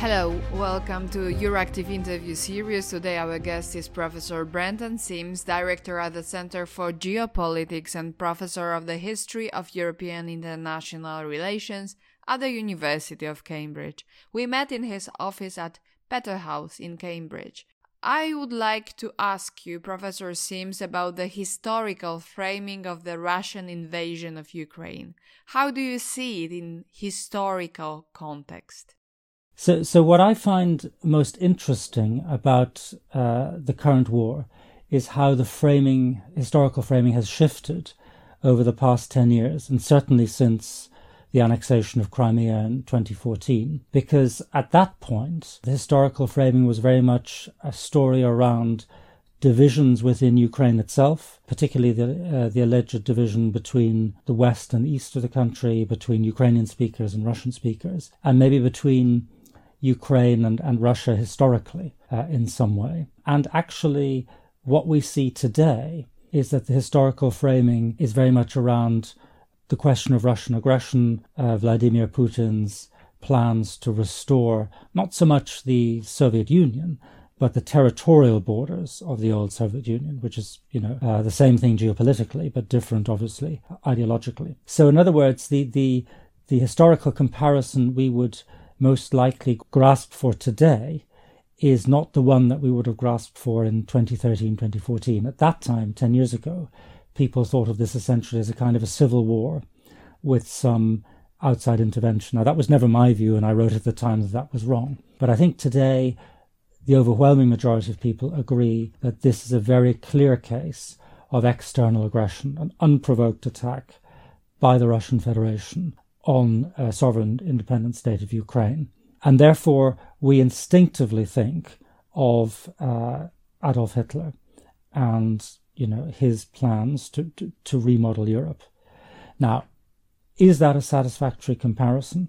Hello, welcome to Euractiv interview series. Today our guest is Professor Brendan Simms, Director at the Center for Geopolitics and Professor of the History of European International Relations at the University of Cambridge. We met in his office at Peterhouse in Cambridge. I would like to ask you, Professor Simms, about the historical framing of the Russian invasion of Ukraine. How do you see it in historical context? So what I find most interesting about the current war is how the historical framing has shifted over the past 10 years, and certainly since the annexation of Crimea in 2014, because at that point, the historical framing was very much a story around divisions within Ukraine itself, particularly the alleged division between the west and east of the country, between Ukrainian speakers and Russian speakers, and maybe between Ukraine and Russia historically in some way. And actually, what we see today is that the historical framing is very much around the question of Russian aggression, Vladimir Putin's plans to restore not so much the Soviet Union, but the territorial borders of the old Soviet Union, which is, the same thing geopolitically, but different, obviously, ideologically. So in other words, the historical comparison we would most likely grasp for today is not the one that we would have grasped for in 2013, 2014. At that time, 10 years ago, people thought of this essentially as a kind of a civil war with some outside intervention. Now, that was never my view, and I wrote at the time that that was wrong. But I think today, the overwhelming majority of people agree that this is a very clear case of external aggression, an unprovoked attack by the Russian Federation on a sovereign independent state of Ukraine. And therefore, we instinctively think of Adolf Hitler and, his plans to remodel Europe. Now, is that a satisfactory comparison?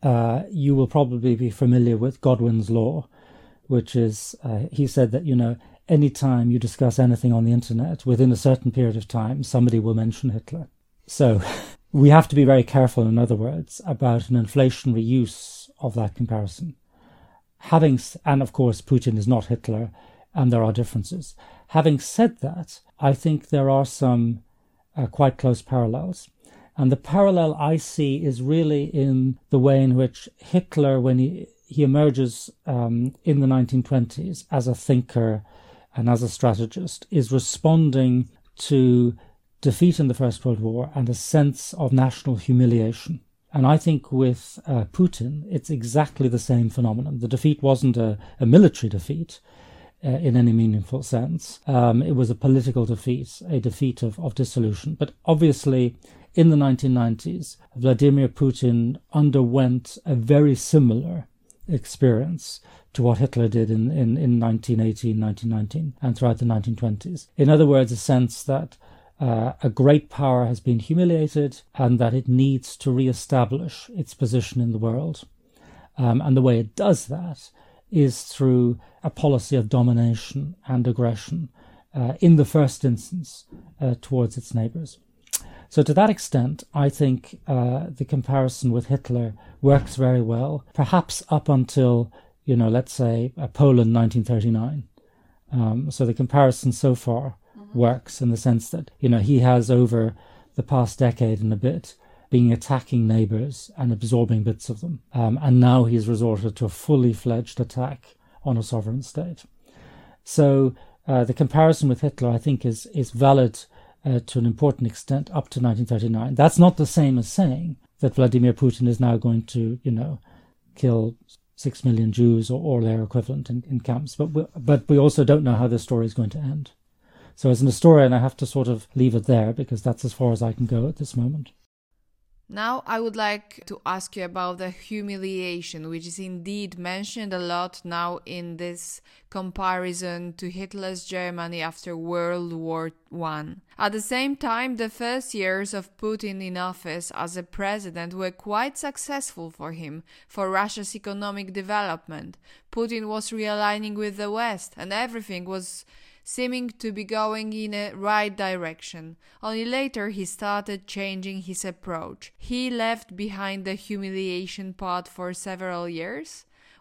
You will probably be familiar with Godwin's law, which is, he said that, any time you discuss anything on the internet, within a certain period of time, somebody will mention Hitler. So we have to be very careful, in other words, about an inflationary use of that comparison. And of course, Putin is not Hitler, and there are differences. Having said that, I think there are some quite close parallels. And the parallel I see is really in the way in which Hitler, when he emerges in the 1920s as a thinker and as a strategist, is responding to defeat in the First World War and a sense of national humiliation. And I think with Putin, it's exactly the same phenomenon. The defeat wasn't a military defeat in any meaningful sense. It was a political defeat, a defeat of dissolution. But obviously, in the 1990s, Vladimir Putin underwent a very similar experience to what Hitler did in 1918, 1919, and throughout the 1920s. In other words, a sense that a great power has been humiliated and that it needs to re-establish its position in the world. And the way it does that is through a policy of domination and aggression in the first instance towards its neighbours. So to that extent, I think the comparison with Hitler works very well, perhaps up until, let's say, Poland 1939. So the comparison so far works in the sense that, he has over the past decade and a bit been attacking neighbours and absorbing bits of them. And now he's resorted to a fully fledged attack on a sovereign state. So the comparison with Hitler, I think, is valid to an important extent up to 1939. That's not the same as saying that Vladimir Putin is now going to, kill 6 million Jews or their equivalent in camps. But we also don't know how this story is going to end. So as an historian, I have to sort of leave it there because that's as far as I can go at this moment. Now I would like to ask you about the humiliation, which is indeed mentioned a lot now in this comparison to Hitler's Germany after World War I. At the same time, the first years of Putin in office as a president were quite successful for him, for Russia's economic development. Putin was realigning with the West, and everything was seeming to be going in a right direction. Only later he started changing his approach. He left behind the humiliation part for several years.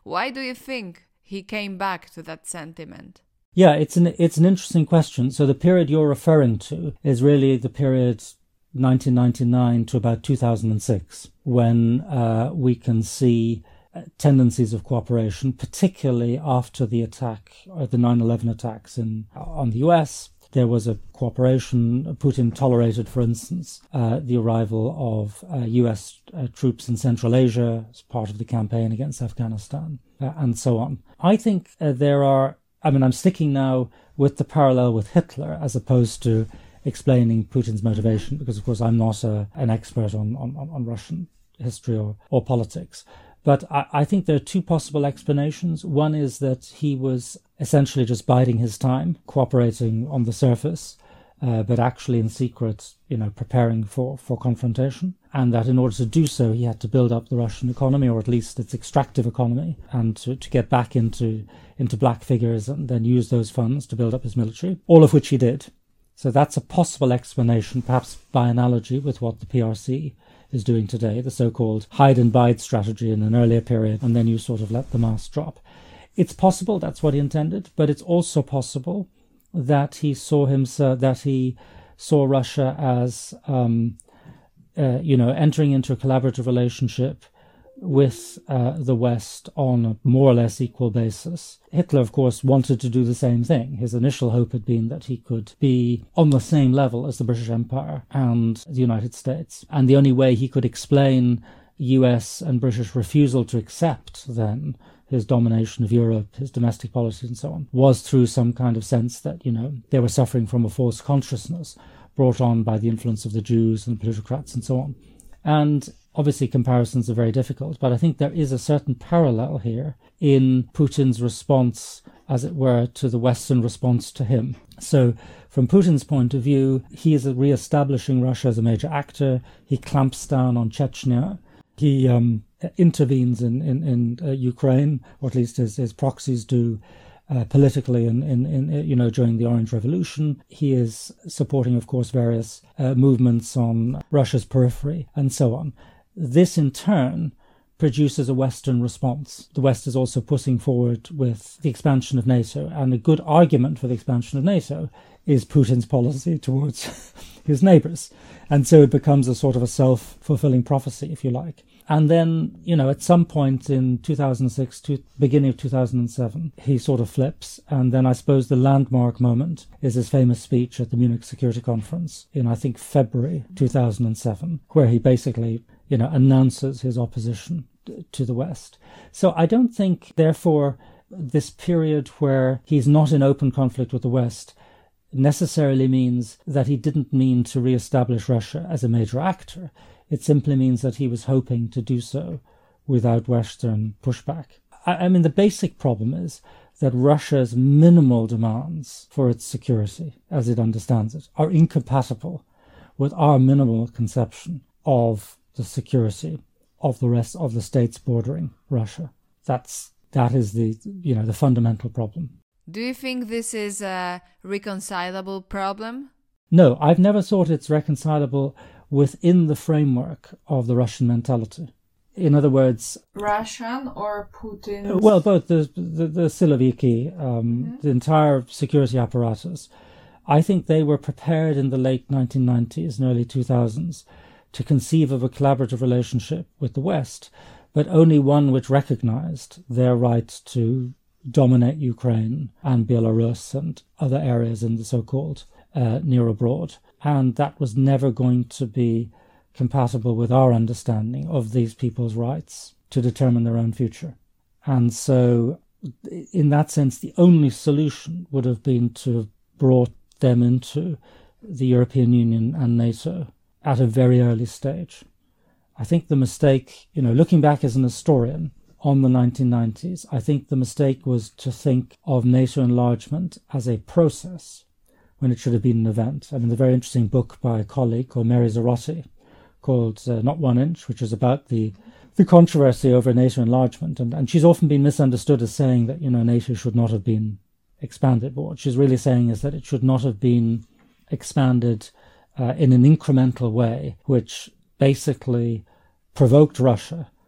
Why do you think he came back to that sentiment? Yeah, it's an interesting question. So the period you're referring to is really the period 1999 to about 2006, when we can see tendencies of cooperation, particularly after the attack, or the 9/11 attacks on the US. There was a cooperation. Putin tolerated, for instance, the arrival of US troops in Central Asia as part of the campaign against Afghanistan, and so on. I think I'm sticking now with the parallel with Hitler as opposed to explaining Putin's motivation, because, of course, I'm not an expert on Russian history or politics. But I think there are two possible explanations. One is that he was essentially just biding his time, cooperating on the surface, but actually in secret, preparing for confrontation. And that in order to do so, he had to build up the Russian economy, or at least its extractive economy, and to get back into black figures and then use those funds to build up his military, all of which he did. So that's a possible explanation, perhaps by analogy with what the PRC is doing today, the so-called hide and bide strategy in an earlier period, and then you sort of let the mask drop. It's possible that's what he intended, but it's also possible that he saw Russia as entering into a collaborative relationship with the West on a more or less equal basis. Hitler, of course, wanted to do the same thing. His initial hope had been that he could be on the same level as the British Empire and the United States. And the only way he could explain US and British refusal to accept then his domination of Europe, his domestic policy and so on, was through some kind of sense that, they were suffering from a false consciousness brought on by the influence of the Jews and the plutocrats and so on. And obviously, comparisons are very difficult, but I think there is a certain parallel here in Putin's response, as it were, to the Western response to him. So from Putin's point of view, he is re-establishing Russia as a major actor. He clamps down on Chechnya. He intervenes in Ukraine, or at least his proxies do, politically during the Orange Revolution. He is supporting, of course, various movements on Russia's periphery and so on. This, in turn, produces a Western response. The West is also pushing forward with the expansion of NATO, and a good argument for the expansion of NATO is Putin's policy towards his neighbors. And so it becomes a sort of a self-fulfilling prophecy, if you like. And then, at some point in 2006 to beginning of 2007, he sort of flips. And then I suppose the landmark moment is his famous speech at the Munich Security Conference in, I think, February 2007, where he basically announces his opposition to the West. So I don't think, therefore, this period where he's not in open conflict with the West necessarily means that he didn't mean to re-establish Russia as a major actor. It simply means that he was hoping to do so without Western pushback. I mean, the basic problem is that Russia's minimal demands for its security, as it understands it, are incompatible with our minimal conception of the security of the rest of the states bordering Russia. That is the fundamental problem. Do you think this is a reconcilable problem? No, I've never thought it's reconcilable within the framework of the Russian mentality. In other words, Russian or Putin? Well, both the Siloviki, the entire security apparatus. I think they were prepared in the late 1990s and early 2000s to conceive of a collaborative relationship with the West, but only one which recognized their right to dominate Ukraine and Belarus and other areas in the so-called near abroad. And that was never going to be compatible with our understanding of these people's rights to determine their own future. And so, in that sense, the only solution would have been to have brought them into the European Union and NATO at a very early stage. I think the mistake, looking back as an historian on the 1990s, I think the mistake was to think of NATO enlargement as a process when it should have been an event. I mean, the very interesting book by a colleague called Mary Zarotti called Not 1 Inch, which is about the controversy over NATO enlargement. And she's often been misunderstood as saying that, NATO should not have been expanded. But what she's really saying is that it should not have been expanded in an incremental way, which basically provoked Russia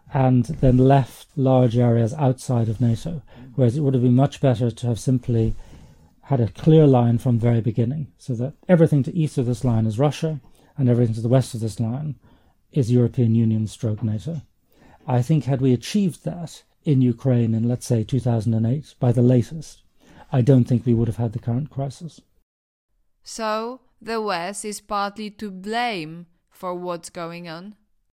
and then left large areas outside of NATO, whereas it would have been much better to have simply had a clear line from the very beginning, so that everything to east of this line is Russia, and everything to the west of this line is European Union stroke NATO. I think had we achieved that in Ukraine in, let's say, 2008, by the latest, I don't think we would have had the current crisis. So, the West is partly to blame for what's going on?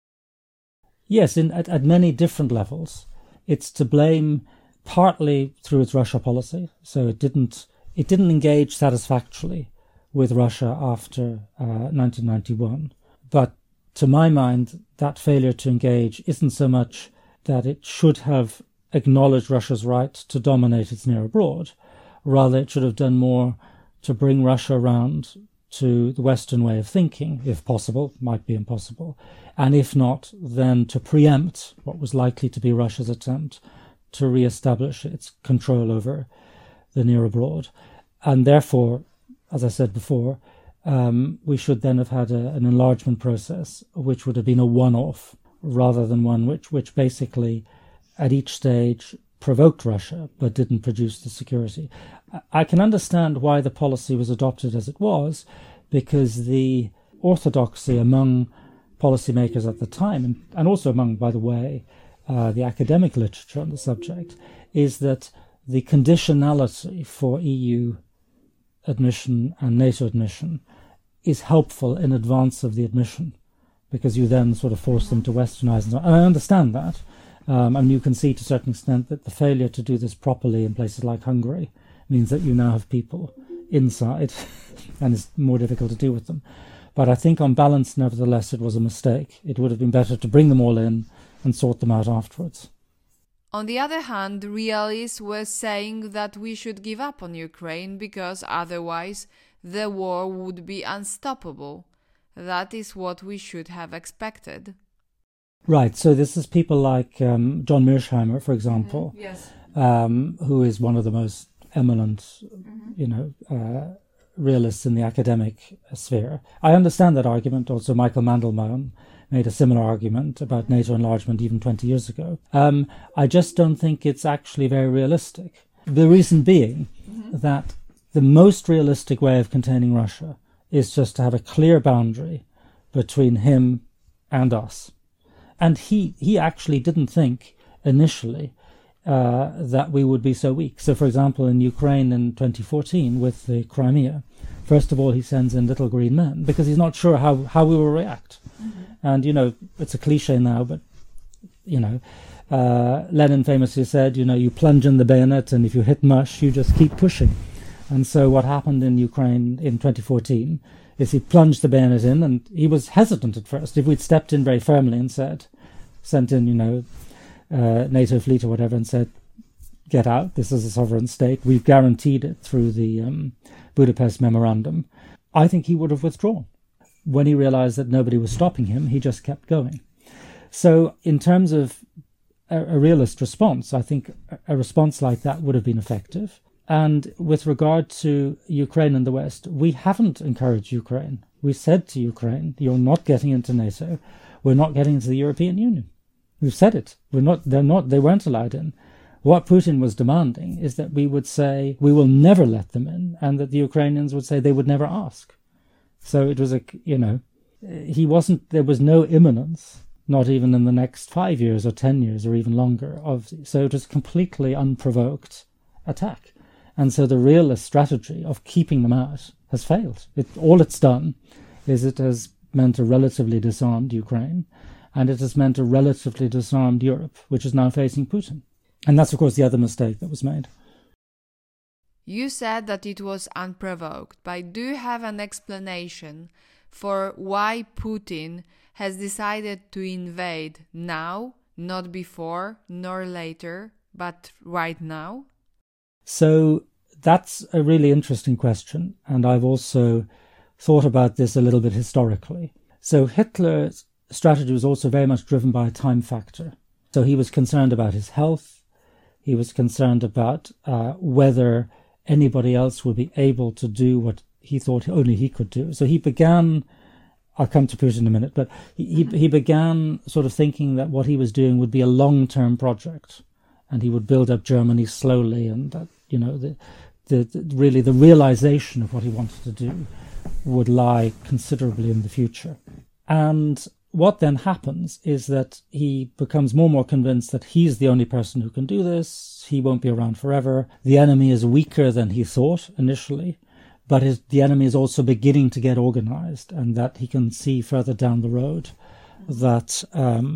Yes, at many different levels. It's to blame partly through its Russia policy. So it didn't engage satisfactorily with Russia after 1991. But to my mind, that failure to engage isn't so much that it should have acknowledged Russia's right to dominate its near abroad. Rather, it should have done more to bring Russia around to the Western way of thinking, if possible, might be impossible, and if not, then to preempt what was likely to be Russia's attempt to re-establish its control over the near abroad. And therefore, as I said before, we should then have had an enlargement process which would have been a one-off, rather than one which basically, at each stage, provoked Russia but didn't produce the security. I can understand why the policy was adopted as it was, because the orthodoxy among policymakers at the time, and also among, by the way, the academic literature on the subject, is that the conditionality for EU admission and NATO admission is helpful in advance of the admission, because you then sort of force them to westernize. And I understand that. And you can see to a certain extent that the failure to do this properly in places like Hungary means that you now have people inside and it's more difficult to deal with them. But I think on balance, nevertheless, it was a mistake. It would have been better to bring them all in and sort them out afterwards. On the other hand, realists were saying that we should give up on Ukraine because otherwise the war would be unstoppable. That is what we should have expected. Right, so this is people like John Mearsheimer, for example, Yes. Who is one of the most eminent, realists in the academic sphere. I understand that argument. Also, Michael Mandelbaum made a similar argument about NATO enlargement even 20 years ago. I just don't think it's actually very realistic. The reason being that the most realistic way of containing Russia is just to have a clear boundary between him and us. And he actually didn't think initially that we would be so weak. So, for example, in Ukraine in 2014 with the Crimea, first of all, he sends in little green men because he's not sure how we will react. And, it's a cliche now, but, Lenin famously said, you plunge in the bayonet and if you hit mush, you just keep pushing. And so what happened in Ukraine in 2014 is he plunged the bayonet in, and he was hesitant at first. If we'd stepped in very firmly and sent in, NATO fleet or whatever, and said, get out, this is a sovereign state, we've guaranteed it through the Budapest Memorandum, I think he would have withdrawn. When he realized that nobody was stopping him, he just kept going. So in terms of a realist response, I think a response like that would have been effective. And with regard to Ukraine and the West, we haven't encouraged Ukraine. We said to Ukraine, you're not getting into NATO. We're not getting into the European Union. We've said it. They weren't allowed in. What Putin was demanding is that we would say, we will never let them in, and that the Ukrainians would say they would never ask. So it was there was no imminence, not even in the next 5 years or 10 years or even longer. So it was completely unprovoked attack. And so the realist strategy of keeping them out has failed. All it's done is it has meant a relatively disarmed Ukraine, and it has meant a relatively disarmed Europe, which is now facing Putin. And that's, of course, the other mistake that was made. You said that it was unprovoked, but do you have an explanation for why Putin has decided to invade now, not before nor later, but right now? So that's a really interesting question, and I've also thought about this a little bit historically. So Hitler's strategy was also very much driven by a time factor. So he was concerned about his health. He was concerned about whether anybody else would be able to do what he thought only he could do. So he began I'll come to Putin in a minute, but he began sort of thinking that what he was doing would be a long-term project, and he would build up Germany slowly, and that, you know, really the realization of what he wanted to do would lie considerably in the future. And what then happens is that he becomes more and more convinced that he's the only person who can do this. He won't be around forever. The enemy is weaker than he thought initially, but the enemy is also beginning to get organized, and that he can see further down the road that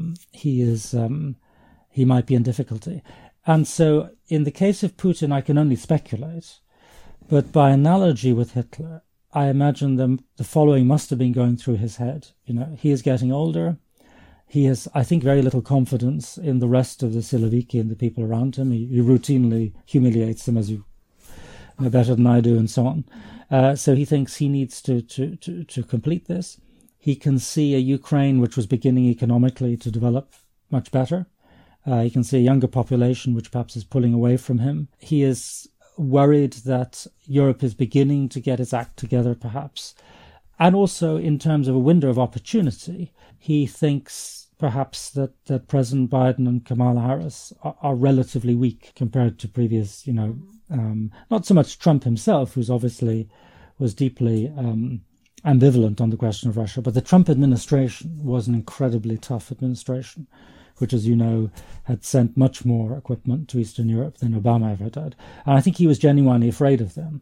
he might be in difficulty. And so in the case of Putin, I can only speculate, but by analogy with Hitler, I imagine the following must have been going through his head. You know, he is getting older. He has, I think, very little confidence in the rest of the Siloviki and the people around him. He routinely humiliates them, as you know better than I do, and so on. So he thinks he needs to complete this. He can see a Ukraine which was beginning economically to develop much better. He can see a younger population which perhaps is pulling away from him. He is worried that Europe is beginning to get its act together, perhaps. And also, in terms of a window of opportunity, he thinks perhaps that President Biden and Kamala Harris are relatively weak compared to previous, you know, not so much Trump himself, who's obviously was deeply ambivalent on the question of Russia, but the Trump administration was an incredibly tough administration, which, as you know, had sent much more equipment to Eastern Europe than Obama ever did. And I think he was genuinely afraid of them.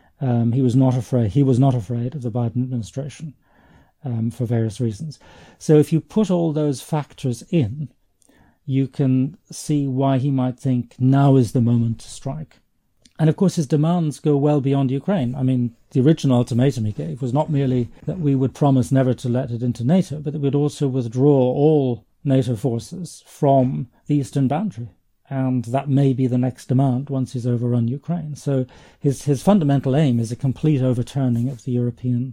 He was not afraid of the Biden administration for various reasons. So if you put all those factors in, you can see why he might think now is the moment to strike. And of course, his demands go well beyond Ukraine. I mean, the original ultimatum he gave was not merely that we would promise never to let it into NATO, but that we'd also withdraw all NATO forces from the eastern boundary. And that may be the next demand once he's overrun Ukraine. So his fundamental aim is a complete overturning of the European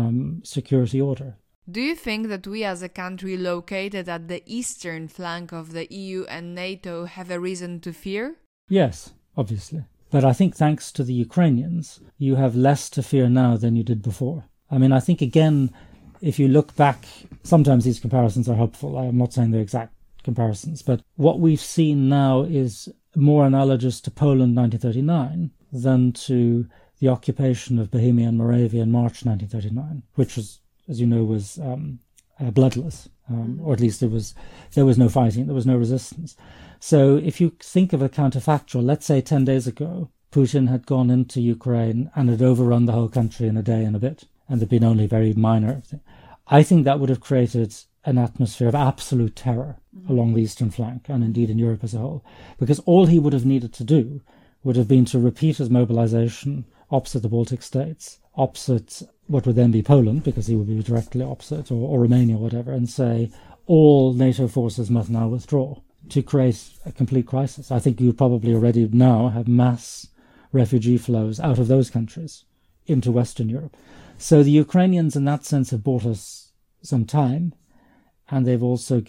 security order. Do you think that we as a country located at the eastern flank of the EU and NATO have a reason to fear? Yes, obviously. But I think thanks to the Ukrainians, you have less to fear now than you did before. I mean, I think, again, if you look back, sometimes these comparisons are helpful. I'm not saying they're exact comparisons, but what we've seen now is more analogous to Poland 1939 than to the occupation of Bohemia and Moravia in March 1939, which was, as you know, was bloodless, or at least there was no fighting, there was no resistance. So if you think of a counterfactual, let's say 10 days ago, Putin had gone into Ukraine and had overrun the whole country in a day and a bit, and there'd been only very minor. I think that would have created an atmosphere of absolute terror along the eastern flank, and indeed in Europe as a whole, because all he would have needed to do would have been to repeat his mobilization opposite the Baltic states, opposite what would then be Poland, because he would be directly opposite, or Romania, or whatever, and say all NATO forces must now withdraw, to create a complete crisis. I think you probably already now have mass refugee flows out of those countries into Western Europe. So the Ukrainians in that sense have bought us some time, and they've also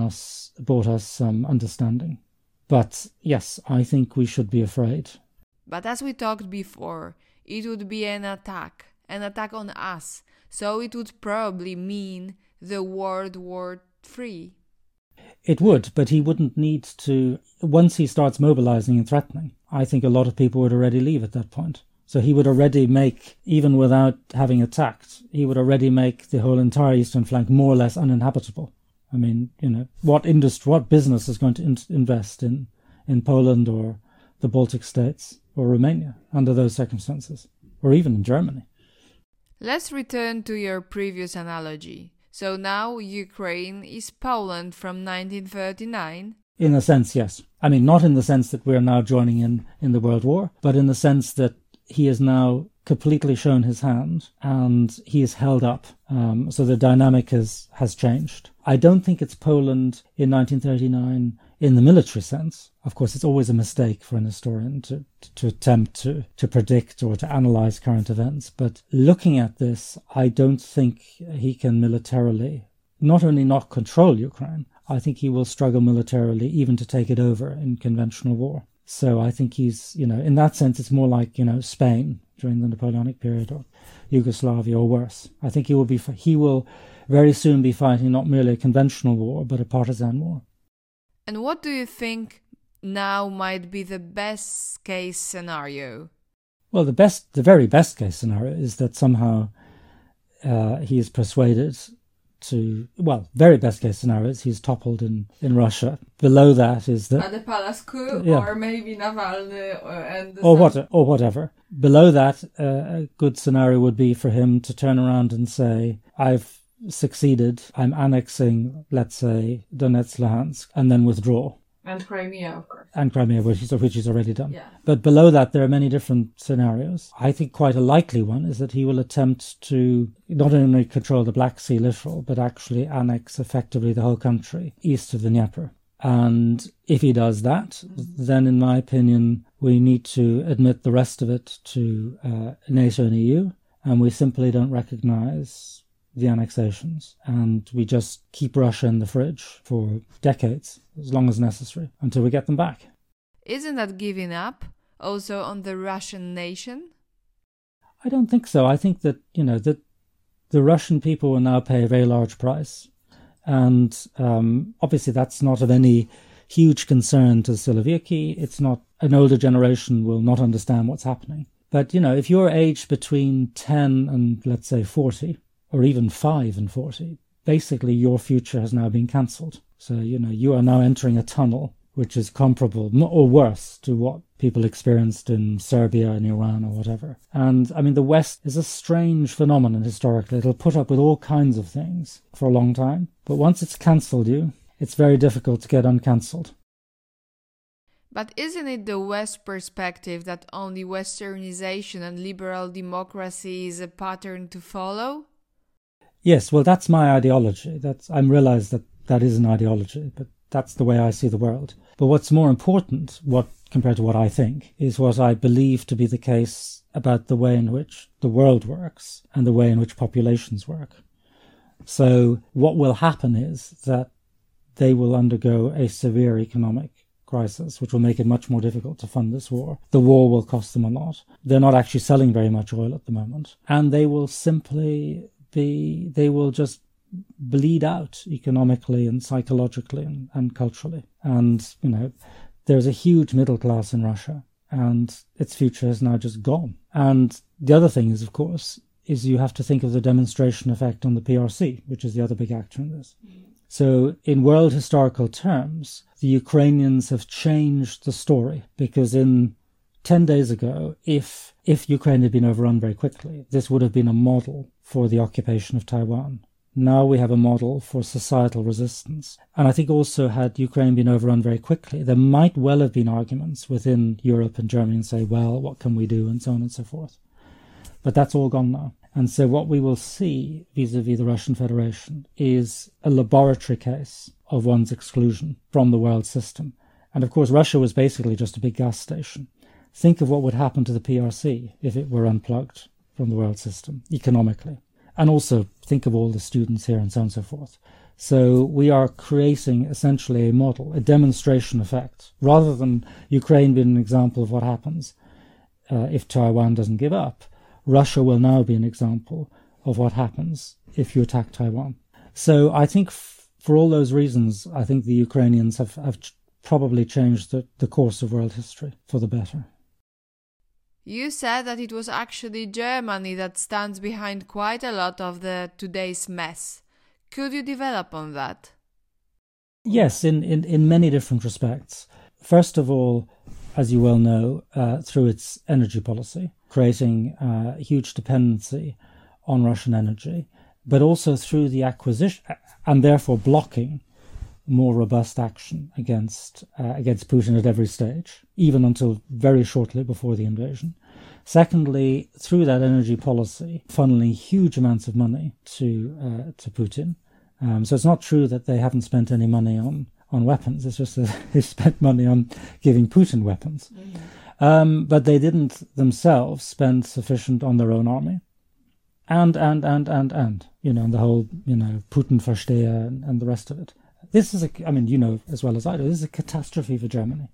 bought us some understanding. But yes, I think we should be afraid. But as we talked before, it would be an attack on us. So it would probably mean the World War III. It would, but he wouldn't need to. Once he starts mobilizing and threatening, I think a lot of people would already leave at that point. So he would already make, even without having attacked, he would already make the whole entire eastern flank more or less uninhabitable. I mean, you know, what business is going to invest in Poland or the Baltic states or Romania under those circumstances, or even in Germany? Let's return to your previous analogy. So now Ukraine is Poland from 1939? In a sense, yes. I mean, not in the sense that we're now joining in the World War, but in the sense that he has now completely shown his hand and he is held up. So the dynamic has changed. I don't think it's Poland in 1939 in the military sense. Of course, it's always a mistake for an historian to attempt to predict or to analyze current events. But looking at this, I don't think he can militarily not only not control Ukraine, I think he will struggle militarily even to take it over in conventional war. So I think he's, in that sense, it's more like, Spain during the Napoleonic period or Yugoslavia or worse. I think he will very soon be fighting not merely a conventional war, but a partisan war. And what do you think now might be the best case scenario? Well, the very best case scenario is that somehow he is persuaded very best case scenario is he's toppled in Russia. Below that is that... At the palace coup, or maybe Navalny and... Or whatever. Below that, a good scenario would be for him to turn around and say, I've succeeded, I'm annexing, let's say, Donetsk, Luhansk, and then withdraw. And Crimea, of course. And Crimea, which he's already done. Yeah. But below that, there are many different scenarios. I think quite a likely one is that he will attempt to not only control the Black Sea littoral, but actually annex effectively the whole country east of the Dnieper. And if he does that, then in my opinion, we need to admit the rest of it to NATO and EU, and we simply don't recognize the annexations, and we just keep Russia in the fridge for decades, as long as necessary, until we get them back. Isn't that giving up also on the Russian nation? I don't think so. I think that, that the Russian people will now pay a very large price. And obviously that's not of any huge concern to Siloviki. It's not, an older generation will not understand what's happening. But, if you're aged between 10 and, let's say, 40, or even 5 and 40, basically your future has now been cancelled. So, you are now entering a tunnel which is comparable or worse to what people experienced in Serbia and Iran or whatever. And, the West is a strange phenomenon historically. It'll put up with all kinds of things for a long time. But once it's cancelled you, it's very difficult to get uncancelled. But isn't it the West perspective that only Westernization and liberal democracy is a pattern to follow? Yes, well, that's my ideology. I realize that is an ideology, but that's the way I see the world. But what's more important, compared to what I think, is what I believe to be the case about the way in which the world works and the way in which populations work. So what will happen is that they will undergo a severe economic crisis, which will make it much more difficult to fund this war. The war will cost them a lot. They're not actually selling very much oil at the moment. And they will just bleed out economically and psychologically and culturally. And, there's a huge middle class in Russia, and its future is now just gone. And the other thing is, of course, you have to think of the demonstration effect on the PRC, which is the other big actor in this. So in world historical terms, the Ukrainians have changed the story, because 10 days ago, if Ukraine had been overrun very quickly, this would have been a model for the occupation of Taiwan. Now we have a model for societal resistance. And I think also, had Ukraine been overrun very quickly, there might well have been arguments within Europe and Germany and say, well, what can we do, and so on and so forth. But that's all gone now. And so what we will see vis-à-vis the Russian Federation is a laboratory case of one's exclusion from the world system. And of course, Russia was basically just a big gas station. Think of what would happen to the PRC if it were unplugged from the world system economically. And also think of all the students here and so on and so forth. So we are creating essentially a model, a demonstration effect. Rather than Ukraine being an example of what happens if Taiwan doesn't give up, Russia will now be an example of what happens if you attack Taiwan. So I think for all those reasons, I think the Ukrainians have probably changed the course of world history for the better. You said that it was actually Germany that stands behind quite a lot of today's mess. Could you develop on that? Yes, in many different respects. First of all, as you well know, through its energy policy, creating a huge dependency on Russian energy, but also through the acquisition and therefore blocking more robust action against Putin at every stage, even until very shortly before the invasion. Secondly, through that energy policy, funneling huge amounts of money to Putin. So it's not true that they haven't spent any money on weapons. It's just that they spent money on giving Putin weapons. Mm-hmm. But they didn't themselves spend sufficient on their own army. And, and the whole, Putin Versteher and the rest of it. This is as well as I do, this is a catastrophe for Germany.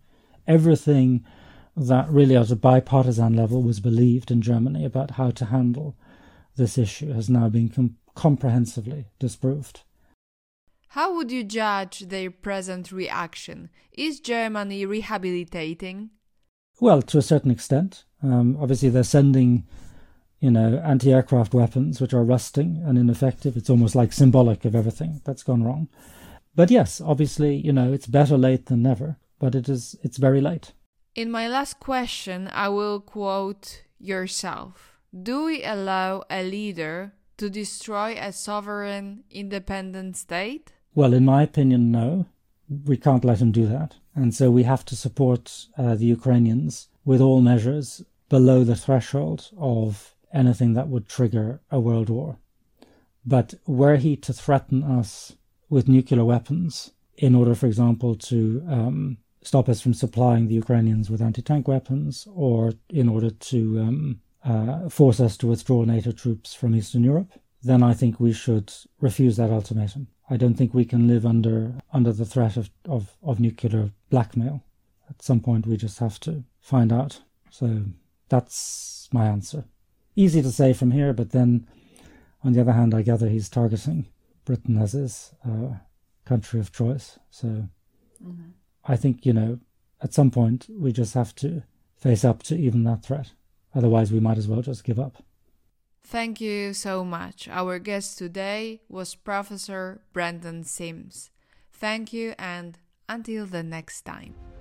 Everything that really at a bipartisan level was believed in Germany about how to handle this issue has now been comprehensively disproved. How would you judge their present reaction? Is Germany rehabilitating? Well, to a certain extent. Obviously, they're sending, anti-aircraft weapons which are rusting and ineffective. It's almost like symbolic of everything that's gone wrong. But yes, obviously, it's better late than never, but it's very late. In my last question, I will quote yourself. Do we allow a leader to destroy a sovereign, independent state? Well, in my opinion, no. We can't let him do that. And so we have to support the Ukrainians with all measures below the threshold of anything that would trigger a world war. But were he to threaten us with nuclear weapons in order, for example, to stop us from supplying the Ukrainians with anti-tank weapons, or in order to force us to withdraw NATO troops from Eastern Europe, then I think we should refuse that ultimatum. I don't think we can live under the threat of nuclear blackmail. At some point we just have to find out. So that's my answer. Easy to say from here, but then on the other hand, I gather he's targeting Britain as his country of choice. So I think, at some point we just have to face up to even that threat. Otherwise we might as well just give up. Thank you so much. Our guest today was Professor Brendan Sims. Thank you, and until the next time.